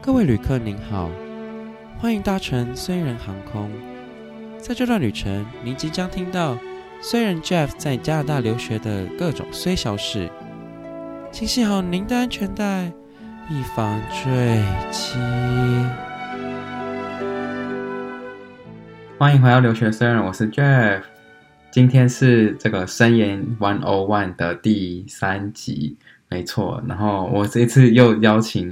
各位旅客您好，歡迎搭乘雖人航空。在這段旅程，您即將聽到雖人 Jeff 在加拿大留學的各種雖小事，請繫好您的安全帶，以防墜機。 歡迎回到留學雖人，我是 Jeff。今天是這個生研101的第3集，沒錯。然後我這次又邀請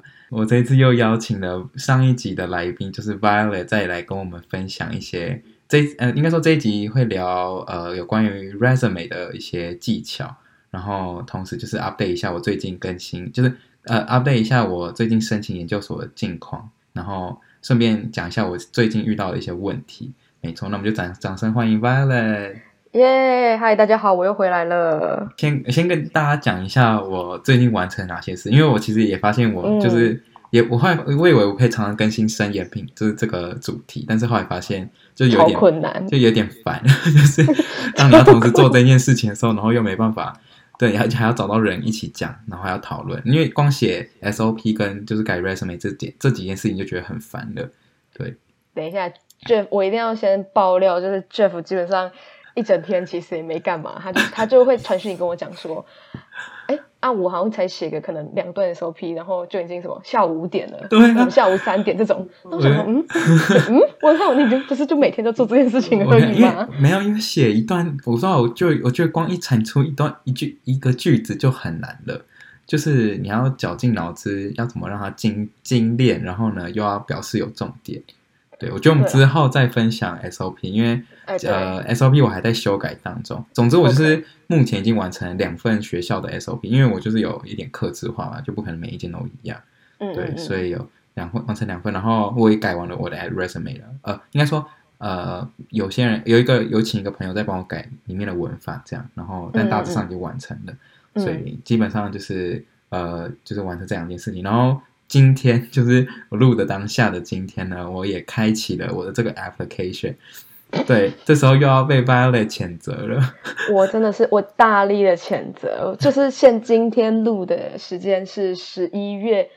了上一集的來賓，就是 Violet 再來跟我們分享一些應該說這一集會聊有關於 resume 的一些技巧，然後同時就是 update 一下我最近更新，就是update 一下我最近申請研究所的近況，然後順便講一下我最近遇到的一些問題。沒錯，那我們就掌聲歡迎 Violet。 耶，嗨，大家好，我又回來了。 先跟大家講一下我最近完成哪些事，因為我其實也發現我就是我以為我可以常常更新生研品，就是這個主題，但是後來發現就有點困難， 就有點煩，就是當你要同時做這件事情的時候，然後又沒辦法，對，而且還要找到人一起講，然後還要討論，因為光寫 SOP 跟就是改 resume 這幾件事情就覺得很煩了。對， 等一下 Jeff， 我一定要先爆料，就是 Jeff 基本上一整天其實也沒幹嘛，他就会傳訊跟我講說，我好像才寫個可能2段 SOP， 然後就已經什麼下午5點了，對、啊，下午3點這種，那我想說，我看你不是就每天都做這件事情而已嗎？沒有， 因為寫一段，我覺得光一產出一個句子就很難了，就是你要絞盡腦汁，要怎麼讓它精煉，然後呢又要表示有重點。對，我覺得我們之後再分享 SOP， 因為SOP 我還在修改當中。總之我就是目前已經完成了2份學校的 SOP， 因為我就是有一點客製化嘛，就不可能每一件都一樣。对，所以有完成2份，然後我也改完了我的 resume 了。應該說有些人有請一個朋友在幫我改裡面的文法，這樣，然後但大致上已經完成了，所以基本上就是完成這2件事情，然後。今天就是我錄的當下的今天呢，我也開啟了我的這個 application。對，這時候又要被 Violet 譴責了。我真的是我大力的譴責，就是今天錄的時間是11月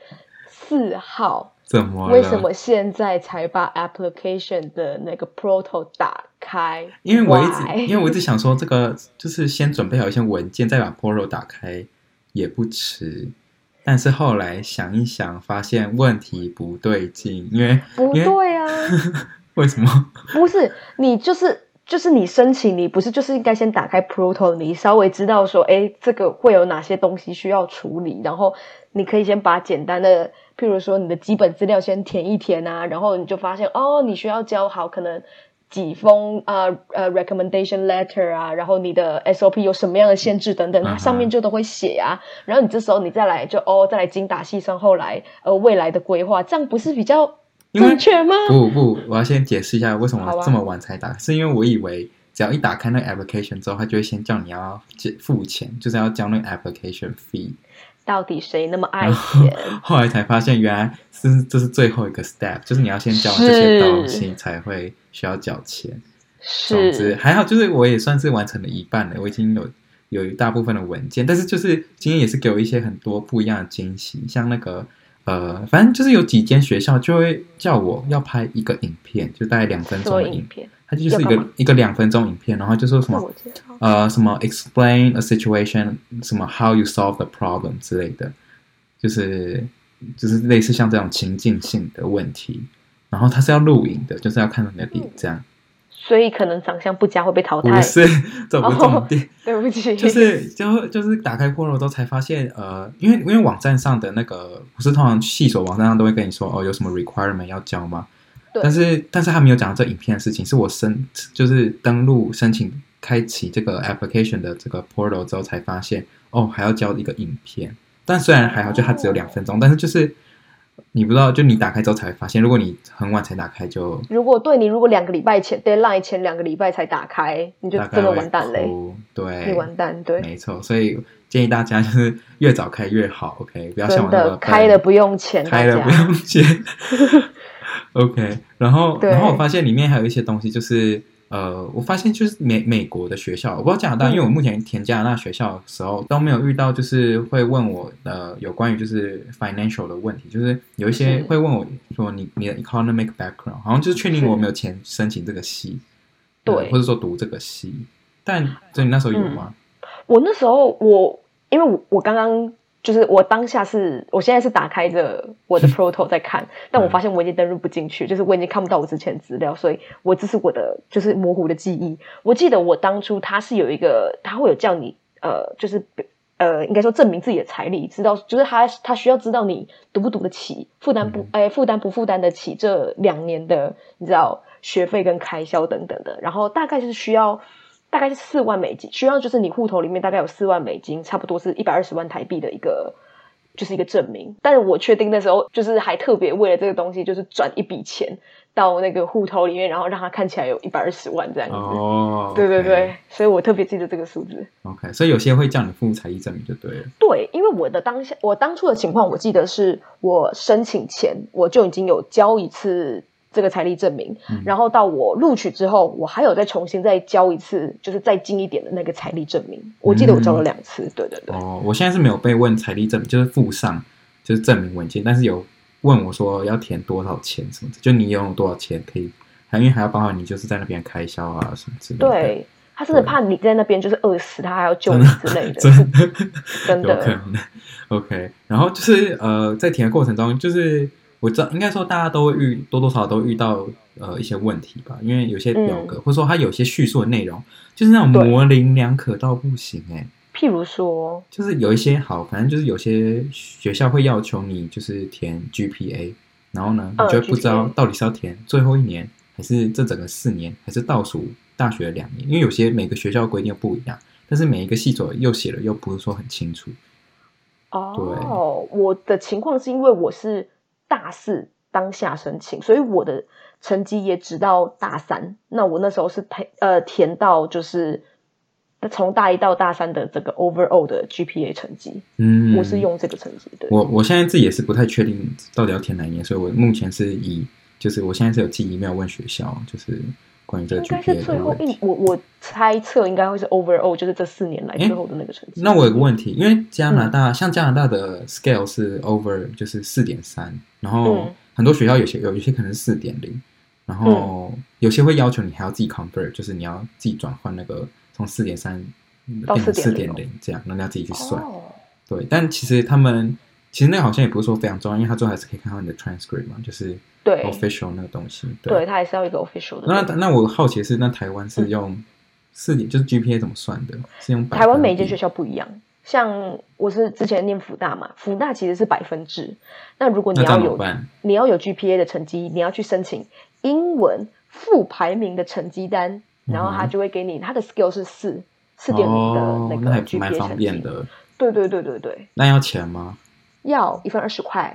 4號。 怎麼了？ 為什麼現在才把 application 的那個 portal 打開？ 因為我一直想說，這個就是先準備好一些文件，再把 portal 打開也不遲。但是後來想一想，發現問題不對勁，因為不對啊。為什麼？不是你就是你申請，你不是就是應該先打開 portal， 你稍微知道說，這個會有哪些東西需要處理，然後你可以先把簡單的，譬如說你的基本資料先填一填啊，然後你就發現你需要交好可能幾封recommendation letter 啊，然後你的 SOP 有什麼樣的限制等等，它上面就都會寫啊。然後你這時候你再來再來精打細算，後來未來的規劃，這樣不是比較正確嗎？ 不，我要先解釋一下為什麼這麼晚才打，是因為我以為只要一打開那個 application 之後，它就會先叫你要付錢，就是要交那個 application fee。 到底誰那麼愛錢？ 後來才發現，原來這是最後一個 step， 就是你要先交完這些東西才會需要繳錢。總之還好，就是我也算是完成了一半了，我已經有一大部分的文件，但是就是今天也是給我一些很多不一樣的驚喜，像那個反正就是有幾間學校就會叫我要拍一個影片，就大概2分鐘的影片。它就是一個2分鐘影片，然後就說什麼什麼 explain a situation， 什麼 how you solve the problem 之類的，就是類似像這種情境性的問題，然後它是要錄影的，就是要看到你的臉這樣。所以可能長相不佳會被淘汰？不是，這不是重點。對不起，就是打開 portal 之後才發現，因為網站上的那個不是通常系所網站上都會跟你說有什麼 requirement 要交嗎？但是他沒有講到這影片的事情，是我就是登錄申請開啟這個 application 的這個 portal 之後才發現，還要交一個影片。但雖然還好，就它只有2分鐘，但是就是你不知道，就你打開之後才會發現，如果你很晚才打開就，如果2個禮拜前 deadline 前2個禮拜才打開，你就真的完蛋嘞。對，你完蛋，對，沒錯。所以建議大家就是越早開越好 ，OK， 不要像我那個開了不用錢，OK， 然後我發現裡面還有一些東西，就是我發現就是美國的學校，我不知道加拿大，因為我目前填加拿大學校的時候都沒有遇到，就是會問我有關於就是 financial 的問題，就是有一些會問我說你的 economic background， 好像就是確定我沒有錢申請這個系，對，或者說讀這個系。但所以你那時候有嗎？ 我那時候因為我剛剛就是我現在是打開着我的 Proto 在看，但我發現我已經登入不進去，就是我已經看不到我之前的資料，所以這是我的就是模糊的記憶。我記得我當初他是有一个，他会有叫你就是应該說證明自己的財力，知道就是他需要知道你讀不讀得起，負擔不負擔得起這2年的你知道學費跟開銷等等的，然後大概是4萬美金，需要就是你戶頭裡面大概有4萬美金，差不多是120萬台幣的一個證明。但是我確定那時候就是還特別為了這個東西，就是轉一筆錢到那個戶頭裡面，然後讓它看起來有120萬這樣子。 哦， 對對對，所以我特別記得這個數字。 OK， 所以有些會叫你附財力證明就對了。 對，因為我當初的情況，我記得是我申請前我就已經有交一次這個財力證明，然後到我錄取之後，我還有再重新再交一次，就是再近一點的那個財力證明。我記得我交了2次，對对對。哦， 我現在是沒有被問財力證明，就是附上就是證明文件，但是有問我說要填多少錢什麼的，就你有多少錢可以，因為還要包含你就是在那邊開銷啊什麼之類的。對， 他真的怕你在那邊就是餓死，他還要救你之類的，真的有可能。OK， 然後就是在填的過程中，就是我知道應該說大家都會多多少少都遇到一些問題吧，因為有些表格、或者說它有些敘述的內容就是那種模棱兩可到不行譬如說就是有一些反正就是有些學校會要求你就是填 GPA， 然後呢你就會不知道到底是要填最後1年還是這整個4年還是倒數大學的2年，因為有些每個學校規定不一樣，但是每一個系所又寫了又不是說很清楚。 哦，我的情況是因為我是大4當下申請，所以我的成績也只到大3。那我那時候是填到就是從大1到大3的這個 overall 的 GPA 成績。我是用這個成績。對， 我現在自己也是不太確定到底要填哪一年，所以我目前是就是我現在是有寄 email問學校，就是關於這個 GPA 的問題。應該是最後我猜測應該會是 overall， 就是這4年來最後的那個成績。 那我有個問題，因為加拿大、像加拿大的 scale 是 over 就是 4.3， 然後很多學校有些可能是 4.0， 然後有些會要求你還要自己 convert， 就是你要自己轉換那個從 4.3 變成 4.0 這樣，然後你要自己去算。對，但其實那個好像也不是說非常重要，因為他最後還是可以看到你的 transcript 嘛，就是對 official 那個東西。 對，他還是要一個 official 的。 那我好奇的是，那台灣是用4點，就是 GPA 怎麼算的？是用台灣每一間學校不一樣。像我是之前念輔大嘛，輔大其實是100%制。那如果你要有 GPA 的成績，你要去申請英文副排名的成績單，然後他就會給你他的 skill 是4.0的那個 GPA 成績。那還蠻方便的。對。那要錢嗎？ 要1份20塊。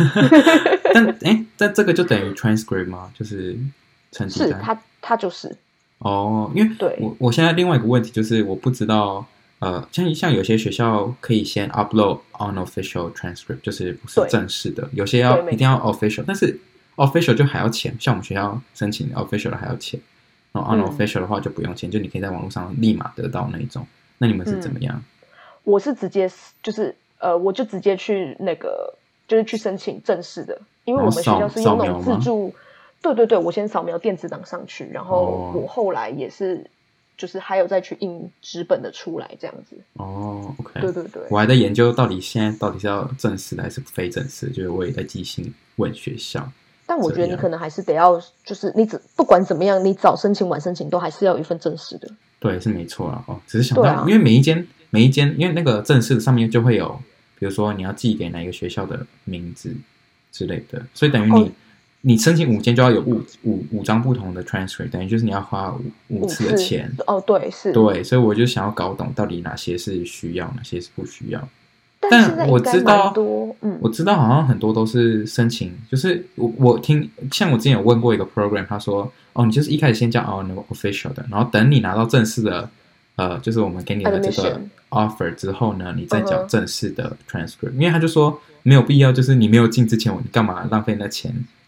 但這個就等於 transcript 嗎？就是成績單。 是它就是因為我現在另外一個問題就是我不知道像有些學校可以先 upload unofficial transcript， 就是不是正式的，有些一定要 official， 但是 official 就還要錢，像我們學校申請 official 的還要錢，然後 unofficial 的話就不用錢，就你可以在網絡上立馬得到那一種。那你們是怎麼樣？ 我是直接就是我就直接去那個就是去申請正式的，因為我们學校是用那種自助。對，我先掃描電子檔上去，然後我後來也是就是還有再去印紙本的出來這樣子。 OK。對， 我還在研究現在到底是要正式的還是非正式，就是我也在寄信問學校。 但我覺得你可能還是得要，就是你不管怎麼樣，你早申請晚申請都還是要有一份正式的。對， 是沒錯啦。只是想到，因為每一間，因為那個正式的上面就會有，比如說你要寄給哪一個學校的名字之類的，所以等於你申請5間就要有五張不同的 transcript， 等於就是你要花5次的錢。 對，是。 對，所以我就想要搞懂到底哪些是需要，哪些是不需要。但我知道，我知道好像很多都是申請，就是我聽，像我之前有問過一個 program， 他說你就是一開始先叫unofficial 的，然後等你拿到正式的就是我們給你的這個 offer 之後呢，你再繳正式的 transcript，因為他就說沒有必要，就是你沒有進之前，你幹嘛浪費那錢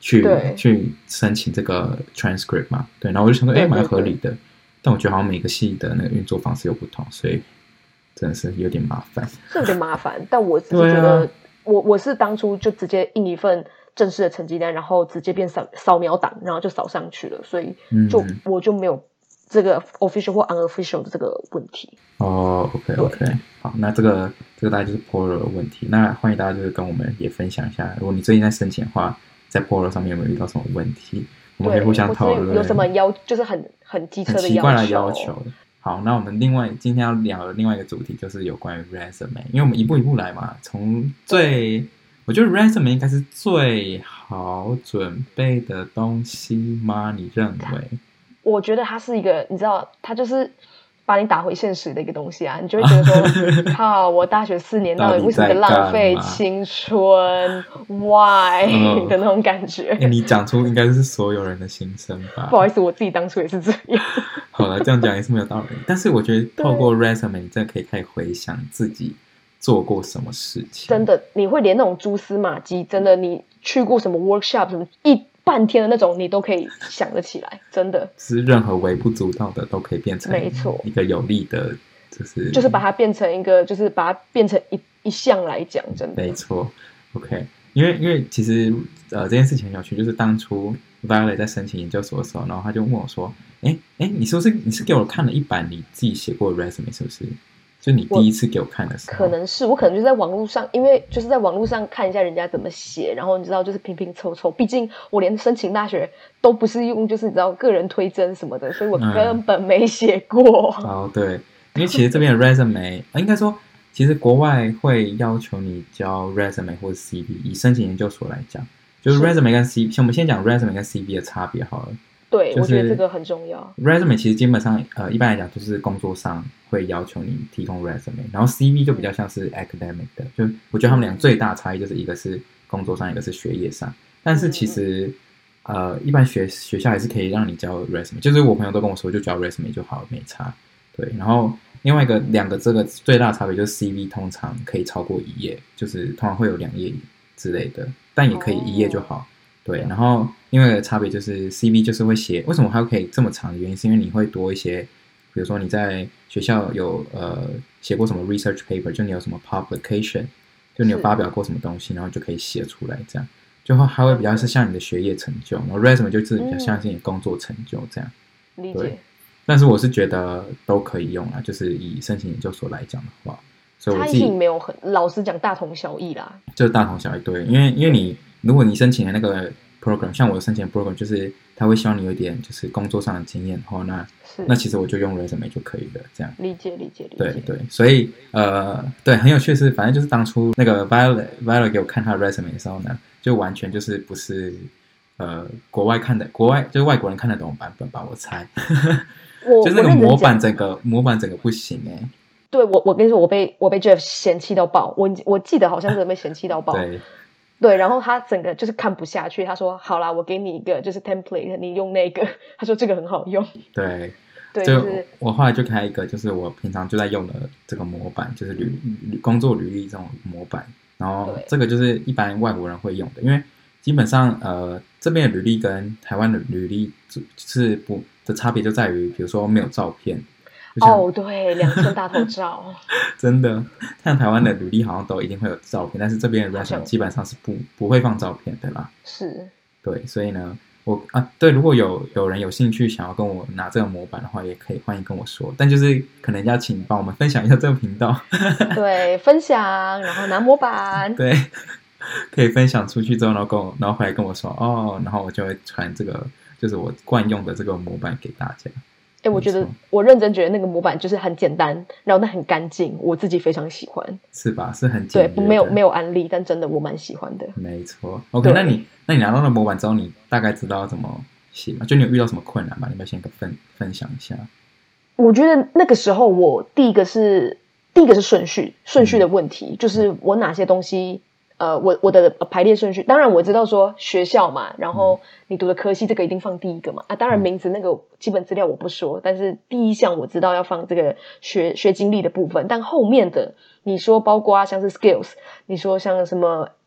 去申請這個 transcript 嘛，對，然後我就想說，蠻合理的，但我覺得好像每個系的那個運作方式又不同，所以真的是有點麻煩， 是有點麻煩。但我只是覺得，我是當初就直接印一份正式的成績單，然後直接變掃描檔，然後就掃上去了，所以我就沒有這個 official 或 unofficial 的這個問題。 哦，OK， 好，那這個大概就是 Portal 的問題。那歡迎大家就是跟我們也分享一下，如果你最近在申請的話，在 Portal 上面有沒有遇到什麼問題？我們可以互相討論。 有什麼就是很機车的奇怪的要求。好，那我們今天要聊的另外一個主題就是有關於 resume， 因為我們一步一步來嘛，我覺得 resume 應該是最好準備的東西嗎？你認為？ 我覺得它是一個，你知道，它就是把你打回現實的一個東西啊，你就會覺得說，靠，我大學4年到底為什麼浪費青春 ？Why、的那種感覺。 你講出應該是所有人的心聲吧？ 不好意思，我自己當初也是這樣。 好了，這樣講也是沒有道理。但是我覺得透過 resume， 你真的可以開始回想自己做過什麼事情。 真的，你會連那種蛛絲馬跡，真的，你去過什麼 workshop， 什麼半天的那種，你都可以想得起來，真的。是任何微不足道的都可以变成一個有利的， 就是把它變成一個，就是把它變成一項來講，真的。 沒錯 ，OK， 因為其實這件事情很有趣，就是當初 Violet 在申請研究所的時候，然後他就問我說：“你是給我看了一版你自己寫過的 resume 是不是？”就你第一次給我看的時候， 我可能就是在網絡上，因為就是在網絡上看一下人家怎麼寫，然後你知道就是拼拼湊湊，畢竟我連申請大學都不是用就是你知道個人推甄什麼的，所以我根本沒寫過。 哦，對，因為其實這邊的 resume 應該說，其實國外會要求你交 resume 或者 CV， 以申請研究所來講，就是 resume 跟 CV， 我們先講 resume 跟 CV 的差別好了。 對，我覺得這個很重要。 resume 其實基本上一般來講就是工作上會要求你提供 resume， 然後 CV 就比較像是 academic 的，就我覺得他們倆最大差異就是一個是工作上，一個是學業上。但是其實一般學校還是可以讓你交 resume， 就是我朋友都跟我說就交 resume 就好了，沒差。對，然後另外兩個這個最大的差別就是 CV 通常可以超過1頁，就是通常會有2頁之類的，但也可以1頁就好。對，然後另外一個差別就是 CV 就是會寫，為什麼它可以這麼長的原因是因為你會多一些，比如說你在學校有寫過什麼 research paper， 就你有什麼 publication， 就你有發表過什麼東西，然後就可以寫出來，這樣就它會比較是像你的學業成就，然後 resume 就是比較像是你的工作成就這樣。 理解。 但是我是覺得都可以用啦，就是以申請研究所來講的話，所以我自己差異性没有老實講大同小異啦，就是大同小異。對，因為如果你申請的那個 program， 像我申請的 program， 就是他會希望你有一點就是工作上的經驗的話，那其實我就用 resume 就可以了，這樣。理解。对，所以对，很有趣的是，反正就是当初那個 Violet 給我看他的 resume 的時候呢，就完全就是不是國外就是外國人看得懂的版本吧，我猜。就是那個模板整個不行欸。 对，我跟你說，我被 Jeff 嫌棄到爆，我記得好像是被嫌棄到爆。对，然後他整個就是看不下去，他說：“好啦，我給你一個就是 template， 你用那個。”他說這個很好用。對，就是我後來就開一個，就是我平常就在用的這個模板，就是工作履歷這種模板。然後這個就是一般外國人會用的，因為基本上這邊的履歷跟台灣的履歷就是的差別就在於，比如說沒有照片。 對，2寸大頭照。 真的，像台灣的履歷好像都一定會有照片，但是這邊的 resume 基本上是不會放照片的啦。是。對，所以呢，對，如果有人有興趣想要跟我拿這個模板的話，也可以歡迎跟我說，但就是可能要請幫我們分享一下這個頻道。對， 分享，然後拿模板。 對，可以分享出去之後，然後回來跟我說然後我就會傳這個就是我慣用的這個模板給大家。 我覺得我認真覺得那個模板就是很簡單，然後那很乾淨，我自己非常喜歡。是吧？是很簡單。對，沒有案例，但真的我蠻喜歡的。沒錯。OK， 那你拿到了模板之後，你大概知道要怎麼寫嗎？就你有遇到什麼困難嗎？你要不要先分享一下？我覺得那個時候我第一個是順序的問題，就是我哪些東西。我的排列順序，當然我知道說學校嘛，然後你讀的科系這個一定放第一個嘛，當然名字那個基本資料我不說，但是第一項我知道要放這個學經歷的部分，但後面的你說包括像是 skills， 你說像什麼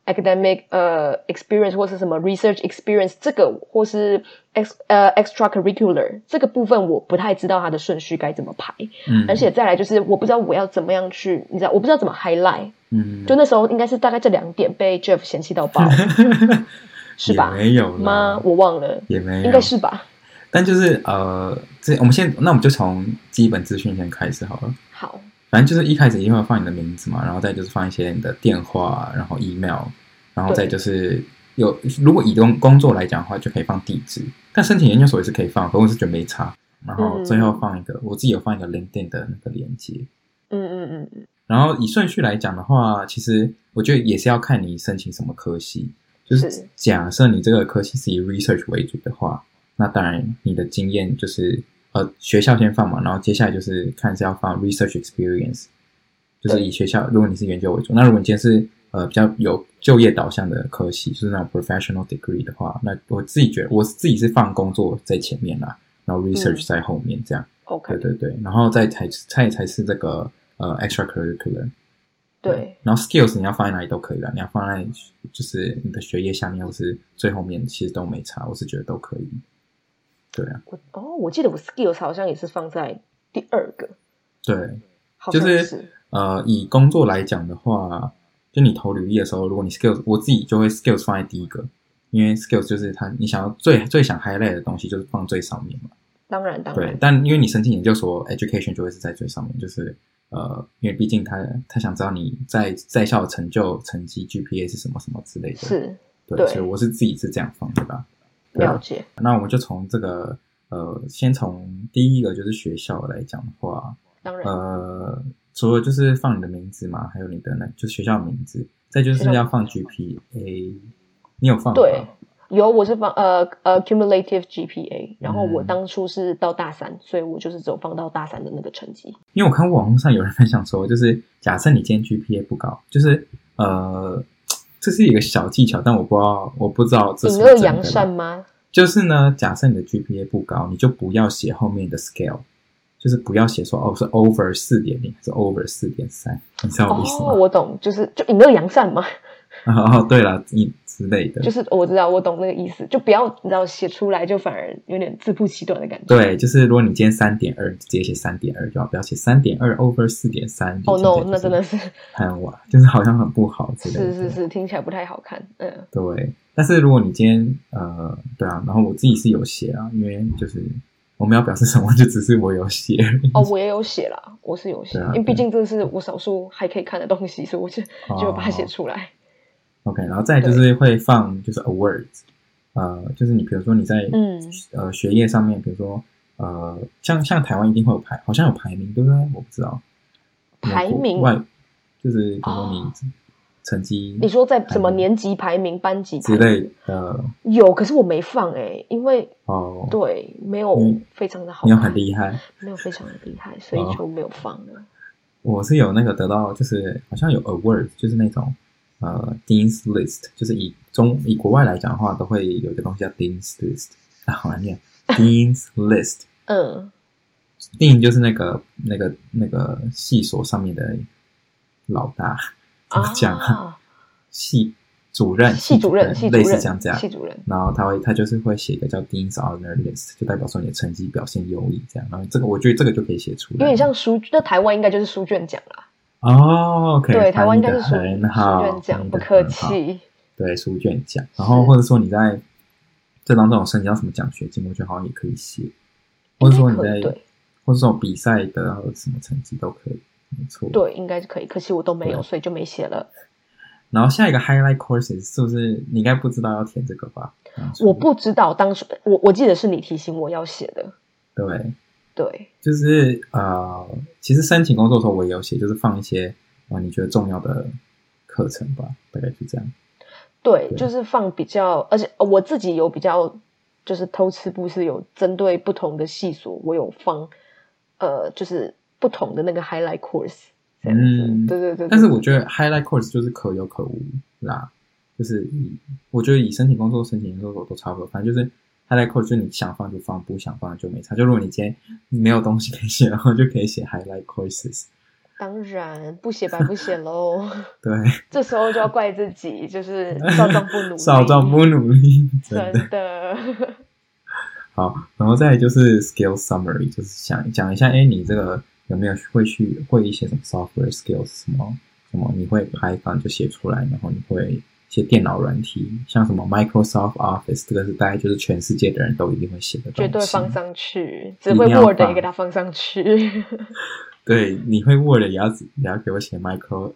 academic experience 或是什麼 research experience 這個或是extracurricular 這個部分我不太知道它的順序該怎麼排，而且再來就是我不知道我要怎麼樣去，你知道我不知道怎麼 highlight，就那時候應該是大概這2點被 Jeff 嫌棄到爆，是吧？ 也沒有嗎？我忘了， 也沒有， 應該是吧？ 但就是我們就從基本資訊先開始好了。 好。 反正就是一開始一定會放你的名字嘛，然後再就是放一些你的電話，然后 email， 然後再就是如果以工作來講的話，就可以放地址。但申請研究所也是可以放，可我是覺得沒差。然後最後放一個，我自己有放一個 LinkedIn 的那個連結。然後以順序來講的話，其實我覺得也是要看你申請什麼科系。就是假設你這個科系是以 research 為主的話，那當然你的經驗就是學校先放嘛，然後接下來就是看是要放 research experience， 就是以學校，如果你是研究為主，那如果你今天是比較有就業導向的科系，就是那種 professional degree 的話，那我自己觉得我自己是放工作在前面啦，然後 research 在後面这樣。 OK， 对，然後再才是這個extracurricular。 对， 然後 skills 你要放在哪裡都可以啦，你要放在就是你的學業下面或是最後面，其實都沒差，我是覺得都可以。对啊， 我記得我 skills 好像也是放在第2個。 對，就是以工作來講的話，就你投履歷的時候，如果你 skills， 我自己就會 skills 放在第1個，因為 skills 就是你想要最想 highlight 的東西，就是放最上面嘛。當然。對，但因為你申請研究所 education 就會是在最上面，就是因為畢竟他想知道你在校的成績 GPA 是什麼什麼之類的。是，對，所以我是自己是這樣放的吧。 了解。 那我們就從这個先從第一個就是學校來講的話， 當然除了就是放你的名字嘛，還有你的就是學校的名字，再就是要放 GPA， 你有放嗎？ 對，有，我是放cumulative GPA， 然後我當初是到大3，所以我就是只有放到大3的那個成績。 因為我看過網絡上有人分享說，就是假設你今天 GPA 不高，就是這是一個小技巧，但我不知道這是不是真的。隱惡揚善嗎？就是呢，假設你的 GPA 不高，你就不要寫後面的 scale， 就是不要寫說是 over 4.0還是 over 4.3， 你知道我意思嗎？ 我懂，就隱惡揚善嘛。 對啦，之類的， 就是我知道，我懂那個意思，就不要你知道寫出來就反而有點自曝其短的感觉。 對，就是如果你今天 3.2， 直接寫 3.2 就好，不要寫 3.2 over 4.3。 no， 那真的是很哇，就是好像很不好之類的。 是，听起來不太好看。 对，但是如果你今天对啊，然後我自己是有寫啊，因為就是我們要表示什麼，就只是我有寫。 我也有寫啦，我是有寫，因為畢竟這是我少數還可以看的東西，所以我就把它寫出來。 OK， 然後再就是會放就是 awards， 就是你比如說你在學業上面，比如說像台灣一定會有好像有排名，對不对？我不知道排名就是比如說你成績， 你說在什麼年級排名、班級排名之類的有，可是我沒放因為對沒有非常的好看， 沒有很厲害， 沒有非常的厲害，所以就沒有放了。 我是有那個得到，就是好像有 awards， 就是那種。Dean's List， 就是以國外來講的話，都會有一個東西叫 Dean's List， 好難念 Dean's List。Dean 就是那個系所上面的老大，怎麼講啊？系主任，類似這樣。系主任，然後他就是會寫一個叫 Dean's Honor List， 就代表說你的成績表現優異這樣。然後這個我覺得這個就可以寫出來，有點像那台灣應該就是書卷獎啦。 OK， 對，台灣應該是書卷獎，不客氣。對， 書卷獎，然後或者說你在這當中有申請到什麼獎學金，我覺得好像也可以寫，或者說你在，或者說比賽得到什麼成績都可以，沒錯。對，應該是可以，可惜我都沒有，所以就沒寫了。然後下一個 highlight courses 是不是你應該不知道要填這個吧？我不知道，當時我記得是你提醒我要寫的。對，就是其實申請工作的時候我也有寫，就是放一些你覺得重要的課程吧，大概是這樣。對，就是放比較，而且我自己有比較，就是偷吃步是有針對不同的系所，我有放就是不同的那個 highlight course 這樣子。對。但是我覺得 highlight course 就是可有可無啦，就是我覺得以申請工作、申請研究所都差不多，反正就是。highlight course 就你想放就放，不想放就沒差。就如果你今天沒有東西可以寫，然後就可以寫 highlight courses。 當然不寫白不寫嘍。 對， 這時候就要怪自己，就是少壯不努力， 少壯不努力， 真的。 好，然後再來就是 skill summary， 就是想講一下，你這個有沒有會一些什麼 software skills， 什麼你會Python就寫出來，然後你會一些電腦軟體，像什麼 Microsoft Office， 這個是大概就是全世界的人都一定會寫的東西，絕對放上去，只會 Word 也給它放上去。 對，你會 Word 也要給我寫 Microsoft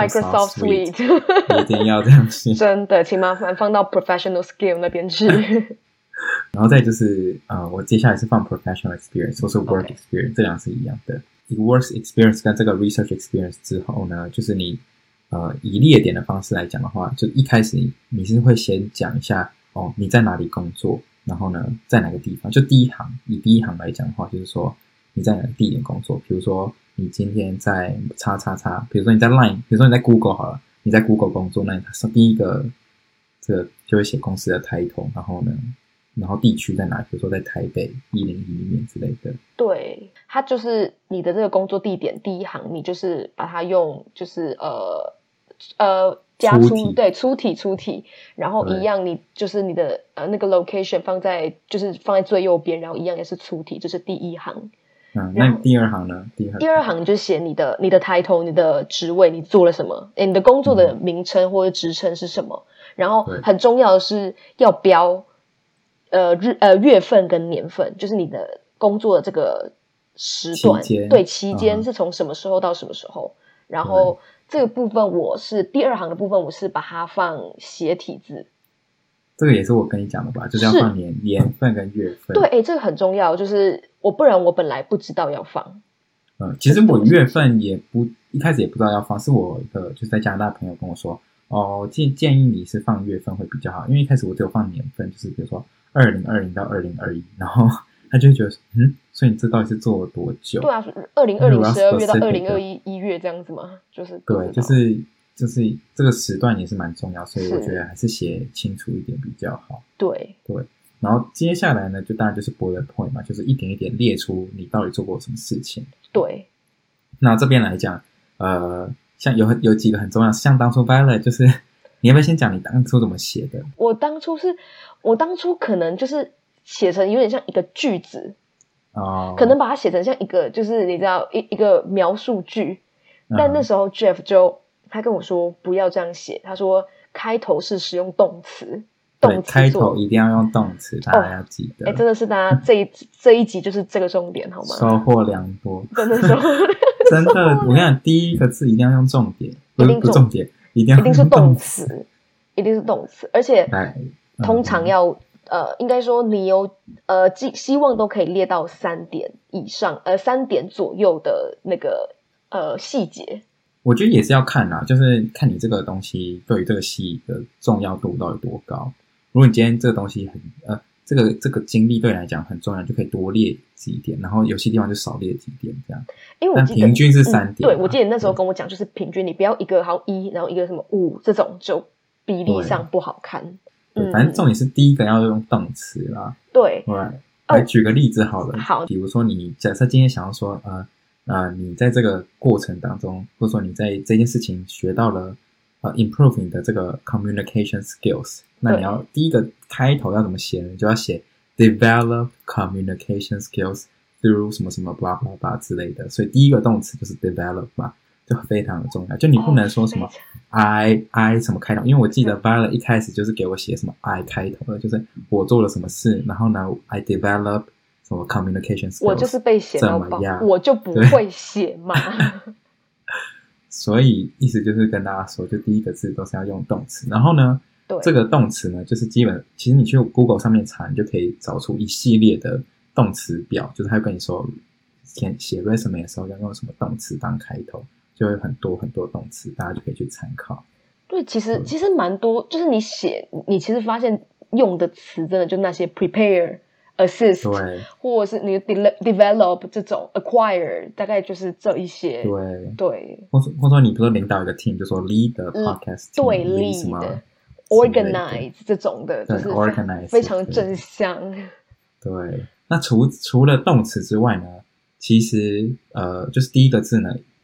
Suite， 一定要這樣寫。真的，請麻煩放到 Professional Skill 那邊去。 然後再就是我接下來是放 professional experience 或是 work experience， 這兩是一樣的。一個 work experience 跟這個 research experience 之後呢，就是你以列點的方式來講的話，就一開始你是會先講一下你在哪裡工作，然後呢在哪個地方，就以第一行來講的話，就是說你在哪個地點工作，比如說你今天在叉叉叉，比如說你在 Line， 比如說你在 Google 好了，你在 Google 工作，那你第一個這個就會寫公司的 title， 然後地区在哪，比如說在台北101裡面之類的。对， 它就是你的這個工作地點第一行，你就是把它用就是加粗體，然後一樣你就是你的那個 location 放在最右邊，然後一樣也是粗體，就是第一行。 那第二行呢？第二行就寫你的 title， 你的職位，你做了什麼，你的工作的名稱或者職稱是什麼，然後很重要的是要標月份跟年份，就是你的工作的這個時段，期間是從什麼時候到什麼時候。然後這個部分第二行的部分，我是把它放斜體字。 這個也是我跟你講的吧，就是要放年份跟月份。 對，這個很重要，就是不然我本來不知道要放。 其實我月份一開始也不知道要放，是我一個就是在加拿大朋友跟我說，建議你是放月份會比較好，因為一開始我只有放年份，就是比如說2020到2021，然後他就會覺得所以你這到底是做了多久？對啊 ，2020 12月到2021 1月這樣子嘛，就是對，就是這個時段也是蠻重要，所以我覺得還是寫清楚一點比較好。 对， 然後接下來呢，就当然就是 bullet point 嘛，就是一點一點列出你到底做過什麼事情。 对， 那這邊來講，像有幾個很重要，像當初 Violet 就是你要不要先講你當初怎麼寫的？ 我當初可能就是寫成有點像一個句子，可能把它寫成像一個就是你知道一個描述句，但那時候 Jeff 他跟我說不要這樣寫，他說開頭是使用動詞， 對，開頭一定要用動詞，大家要記得。 真的是大家這一集就是這個重點，好嗎？ 收穫良多， 真的收穫真的，我跟你講，第一個字一定要用重點，不是重點，一定是動詞，一定是動詞，而且通常要應該說你有希望都可以列到3點以上，3點左右的那個細節。 我覺得也是要看啦，就是看你這個東西對於這個戲的重要度到底多高。如果你今天這個東西這個經歷對你來講很重要，就可以多列幾點，然後有些地方就少列幾點這樣。因為我記得但平均是3點。 對，我記得你那時候跟我講，就是平均，你不要一個好1，然後一個什麼5，這種就比例上不好看。 對，反正重點是第一個要用動詞啦。 對， 來舉個例子好了。 好， 比如说你假設今天想要說你在這個過程當中，或者說你在這件事情學到了improve 你的這個 communication skills， 那你要第一個開頭要怎麼寫呢？你就要寫 develop communication skills through 什麼什麼 blah blah blah 之類的，所以第一個動詞就是 develop 嘛，就非常的重要。就你不能說什麼 I 什麼開頭，因為我記得 Violet 一開始就是給我寫什麼 I 開頭的，就是我做了什麼事，然後呢 I develop 什麼 communication skills， 我就是被寫到爆，我就不會寫嘛。 所以意思就是跟大家說，就第一個字都是要用動詞，然後呢，這個動詞呢，就是其實你去 Google 上面查，你就可以找出一系列的動詞表，就是他會跟你說，寫 resume 的時候要用什麼動詞當開頭，就會很多很多動詞，大家就可以去參考。 對，其實蠻多，就是你其實發現用的詞真的就那些 prepare。assist， 或者是你 develop 這種 acquire， 大概就是這一些。對，或者說你比如說領導一個 team， 就說 lead the podcast team， 對 lead organize 這種的，就是非常正向。 對，那除了動詞之外呢，其實就是第一個字呢，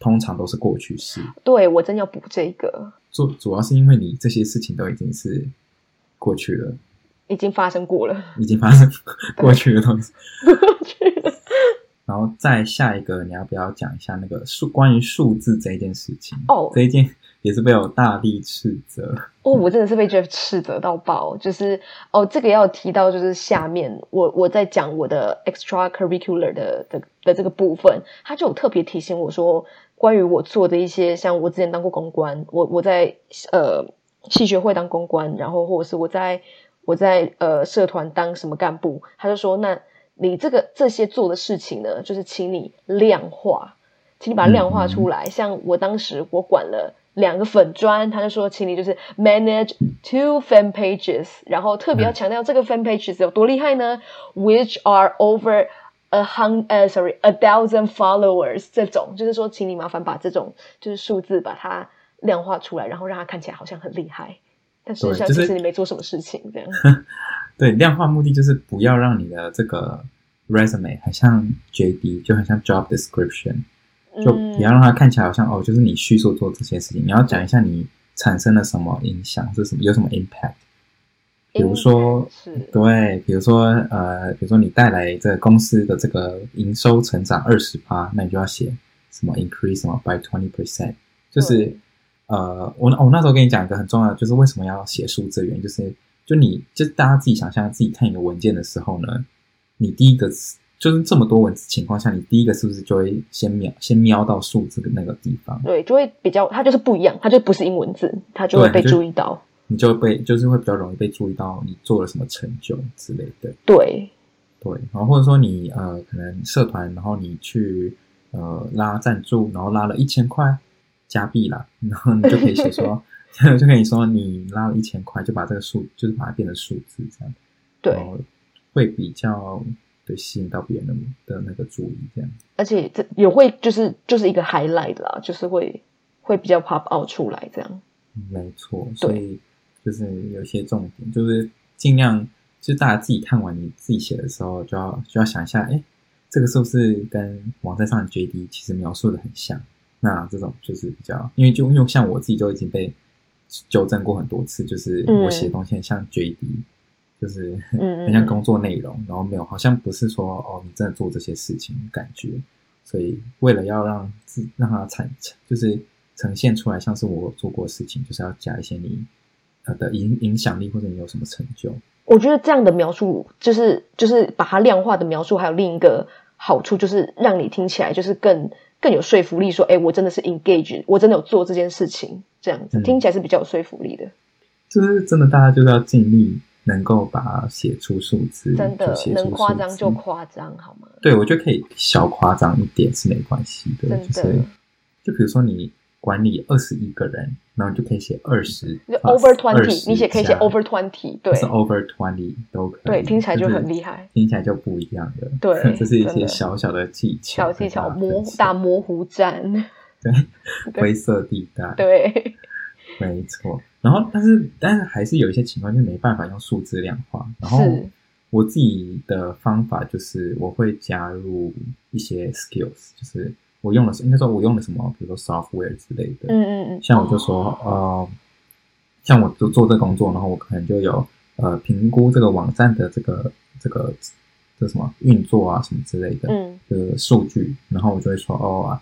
通常都是過去式。 對，我真要補這個。 主要是因為你這些事情都已經是過去了， 已經發生過了， 已經發生過去的東西。 過去了。 然後再下一個，你要不要講一下那個關於數字這一件事情？這一件也是被我大力斥責。 我真的是被 Jeff 斥責到爆。就是這個要提到，就是下面我在講我的 extracurricular 的這個部分，他就有特別提醒我說，關於我做的一些，像我之前當過公關，我在系學會當公關，然後或者是我在社團當什麼幹部，他就說那。你這些做的事情呢，就是請你量化，請你把它量化出來。像我當時我管了2個粉專，他就說請你就是 manage 2 fan pages， 然後特別要強調這個 fan pages 有多厲害呢？which are over 1,000 followers， 這種就是說，請你麻煩把這種就是數字把它量化出來，然後讓它看起來好像很厲害，但事實上其實你沒做什麼事情，這樣。 對，量化目的就是不要讓你的這個 resume 很像 JD， 就很像 job description， 就不要讓它看起來好像就是你敘述做這些事情，你要講一下你產生了什麼影響，是什麼，有什麼 impact。比如說，對，比如說你帶來這個公司的這個營收成長 20%， 那你就要寫什麼 increase 什麼 by 20%， 就是我那時候跟你講一個很重要的，就是為什麼要寫數字的原因，就是大家自己想象，自己看一個文件的時候呢，你第一個就是這麼多文字情況下，你第一個是不是就會先瞄到數字的那個地方？对， 就會比較，它就是不一樣，它就不是英文字，它就會被注意到， 你就就是會比較容易被注意到你做了什麼成就之類的。 对， 然後或者說你可能社團，然後你去拉贊助，然後拉了1000塊加幣啦，然後你就可以寫說。就跟你說，你拉了1000塊，就把這個數，就是把它變成數字，這樣， 對， 然後會比較吸引到別人的那個注意，這樣。 而且這也會就是一個 highlight 啦，就是會比較 pop out 出來，這樣。 沒錯，所以就是有一些重點，就是盡量，就是大家自己看完你自己寫的時候，就要想一下，這個是不是跟網站上的 JD 其實描述的很像？那這種就是比較，因為像我自己就已經被糾正過很多次，就是我寫的東西很像 JD，就是很像工作內容，然後沒有，好像不是說你真的做這些事情感覺，所以為了要讓它就是呈現出來像是我做過的事情，就是要加一些你的影響力或者你有什麼成就。 我覺得這樣的描述就是把它量化的描述，還有另一個好處就是讓你聽起來就是更有說服力，說我真的是 engage， 我真的有做這件事情，這樣子聽起來是比較有說服力的。 就是真的，大家就是要盡力能夠把它寫出數字， 真的能誇張就誇張，好嗎？ 對，我覺得可以小誇張一點是沒關係的， 真的。 就比如說你管理21個人，然後你就可以寫20， 就 over 20，你可以寫 over 20，對， 是 over 20都可以， 对，听起來就很厲害， 聽起來就不一樣的， 對， 這是一些小小的技巧， 小技巧，打模糊戰， 對，灰色地帶， 對， 沒錯。然後，但是還是有一些情況，就沒辦法用數字量化。然後我自己的方法就是我會加入一些 skills， 就是應該說我用了什麼，比如說 software 之類的。像我就說，像我就做這個工作，然後我可能就有評估這個網站的這個什麼運作啊什麼之類的，的數據，然後我就會說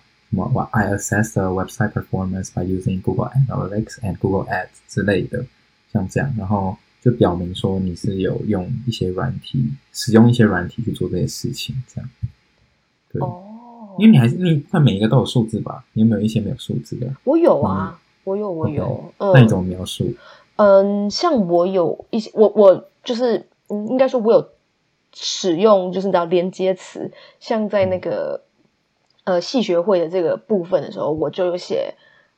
I assess the website performance by using Google Analytics and Google Ads 之類的，像這樣，然後就表明說你是有用一些使用一些軟體去做這些事情，這樣。對，因為你看每一個都有數字吧？你有沒有一些沒有數字的？ 我有啊，我有。 Okay, 那你怎麼描述？ 像我有一些，我就是應該說我有使用，就是你知道連接詞，像在那個。系學會的這個部分的時候，我就有寫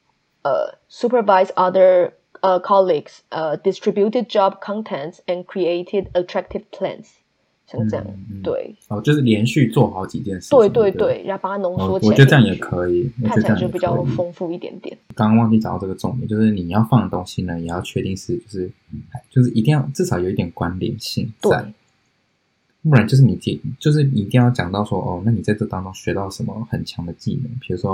supervise other colleagues distributed job contents and created attractive plans， 像這樣，對， 就是連續做好幾件事情， 對，然後把它濃縮起來， 我覺得這樣也可以， 看起來就比較豐富一點點。 剛剛忘記講到這個重點，就是你要放的東西呢，也要確定是就是一定要至少有一點關聯性在。不然就是你一定要講到說那你在這當中學到什麼很強的技能，比如說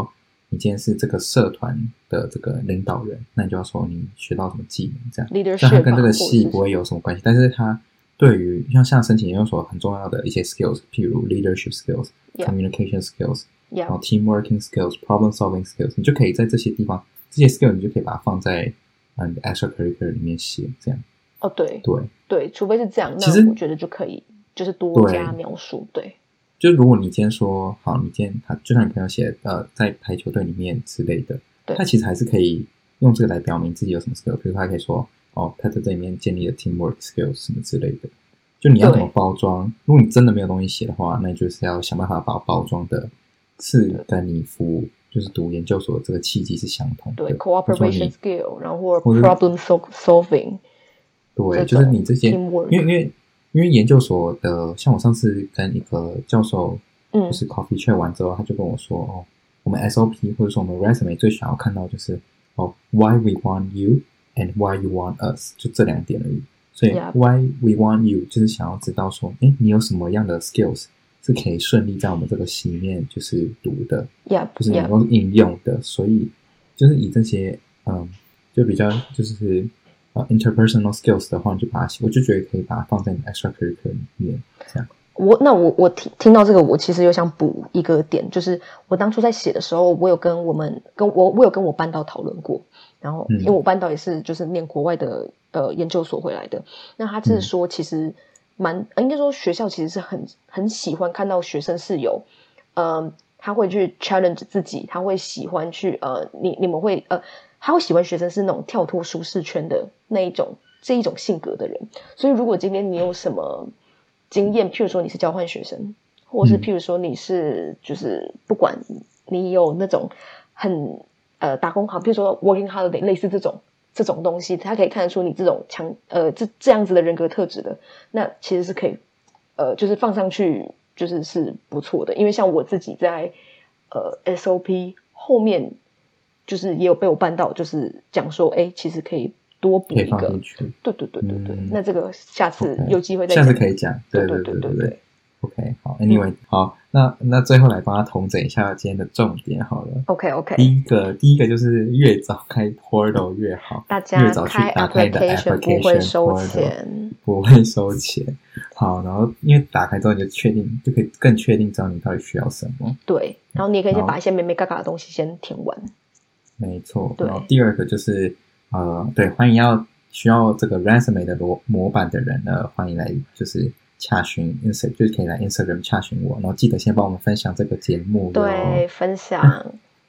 你今天是這個社團的這個領導人，那你就要說你學到什麼技能這樣。 Leadership 但它跟這個系不會有什麼關係，但是它對於像申請研究所很重要的一些 skills， 譬如 leadership skills、communication skills， 然後 teamworking skills、problem solving skills， 你就可以在這些地方，這些 skills 你就可以把它放在你的 extracurricular 裡面寫這樣。 哦，對对对，除非是這樣，那我覺得就可以就是多加描述。对， 就如果你今天說好，你今天就像你朋友寫在排球隊裡面之類的，他其實還是可以用這個來表明自己有什麼 skill， 比如說他可以說他在這裡面建立了 teamwork skills 什麼之類的。就你要怎麼包裝？如果你真的沒有東西寫的話，那你就是要想辦法把包裝的是跟你就是讀研究所的這個契機是相同的。 對 ，cooperation skill， 然後或 problem solving。 對，就是你這些，因為研究所的，像我上次跟一個教授，就是 coffee chat 完之後，他就跟我說，我們 SOP 或者說我們 resume 最想要看到就是why we want you and why you want us， 就這兩點而已。所以 why we want you 就是想要知道說，你有什麼樣的 skills 是可以順利在我們這個系裡面就是讀的，就是能夠應用的。所以就是以這些，就比較就是interpersonal skills 的話，你就把它写，我就覺得可以把它放在你 extracurricular 裡面，這樣。 我聽到這個，我其實有想補一個點，就是我當初在寫的時候，我有跟我班導討論過，然後因為我班導也是就是念國外的研究所回來的，那他是說其實應該說學校其實是很喜歡看到學生是有他會去 challenge 自己，他會喜歡去你們会他會喜歡學生是那種跳脫舒適圈的這一種性格的人，所以如果今天你有什麼經驗，譬如說你是交換學生，或是譬如說你是就是不管你有那種很打工好，譬如說 working holiday 類似這種東西，他可以看得出你這種這樣子的人格特質的，那其實是可以就是放上去是不錯的，因為像我自己在SOP 後面就是也有被我辦到，就是講說其實可以多補一個，對，那這個下次有機會再講， 下次可以講，對。OK， 好 ，Anyway，好，那最後來幫他統整一下今天的重點好了。 OK， 第一個就是越早開 portal 越好， 大家越早去打開你的 application 不會收錢， 不會收錢。好，然後因為打開之後你就可以更確定知道你到底需要什麼。对， 然後你也可以先把一些眉眉角角的東西先填完。沒錯，然後第二個就是對，歡迎需要這個 resume 的模板的人呢，歡迎來就是洽詢 Instagram， 就是可以來 Instagram 洽詢我，然後記得先幫我們分享這個節目。 對，分享。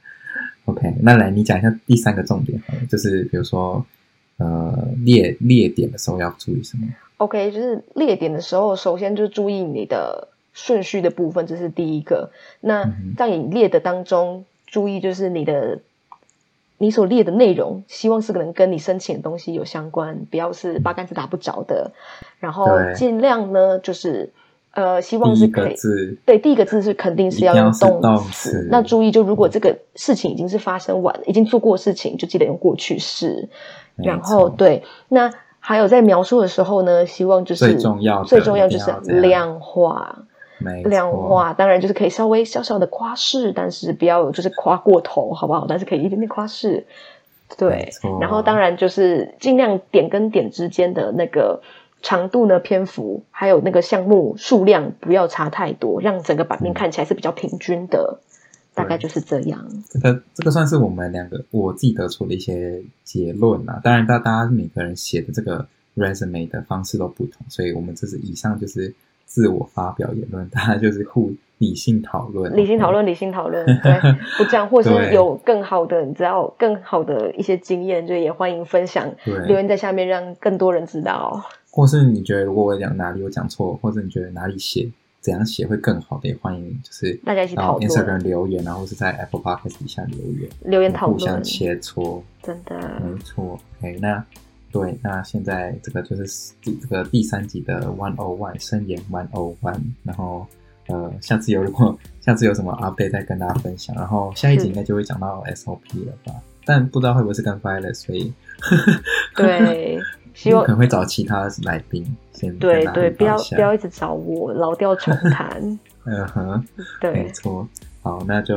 OK， 那來你講一下第三個重點，就是比如說列點的時候要注意什麼 ？OK， 就是列點的時候，首先就注意你的順序的部分，這是第一個。那在你列的當中，注意就是你所列的內容，希望是可能跟你申請的東西有相關，不要是八竿子打不着的。然後盡量呢，就是希望是可以第一個字是肯定是要用動詞。那注意，就如果這個事情已經是發生完了，已經做過的事情，就記得用過去式。然後對，那還有在描述的時候呢，希望就是最重要就是量化。量化當然就是可以稍微小小的誇飾，但是不要就是誇過頭，好不好？但是可以一點點誇飾，對。然後當然就是盡量點跟點之間的那個長度呢、篇幅，還有那個項目數量不要差太多，讓整個版面看起來是比較平均的。大概就是這樣。這個算是我們兩個我自己得出的一些結論啦。當然，大家每個人寫的這個 resume 的方式都不同，所以我們這是以上就是自我發表言論，大家就是理性討論，理性討論，对，不这樣，或是有更好的，你知道更好的一些經驗，就也歡迎分享，留言在下面，讓更多人知道。或是你覺得如果我講哪裡有講錯，或者你覺得哪裡怎樣寫會更好的，也歡迎就是大家一起討論 ，Instagram 留言，然後是在 Apple Podcast 底下留言討論，互相切磋，真的沒錯。OK， 那現在這個就是這個第3集的101生涯101，然後下次有什麼 update 再跟大家分享，然後下一集應該就會講到 SOP 了吧，但不知道會不會是跟 Violet， 所以對，希望可能會找其他來賓先對，不要一直找我，老調重彈。對，沒錯。好，那就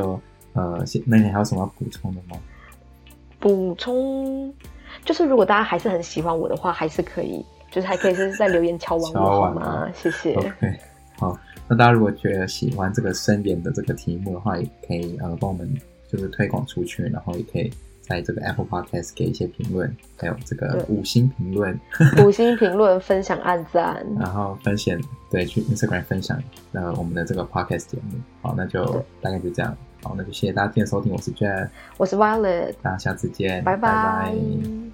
那你還有什麼要補充的嗎？ 補充就是如果大家還是很喜歡我的話，還是可以，就是還可以是在留言敲完我好嗎？謝謝。 OK， 好，那大家如果覺得喜歡這個深研的這個題目的話，也可以幫我們就是推廣出去，然後也可以在這個 Apple Podcast 給一些評論，還有這個5星評論 ，5星評論分享按讚， 然後分享對去 Instagram 分享我們的這個 Podcast 節目。好，那就大概就這樣。好，那就謝謝大家今天的收聽，我是 Jeff， 我是 Violet， 大家下次見， 拜拜。 拜拜。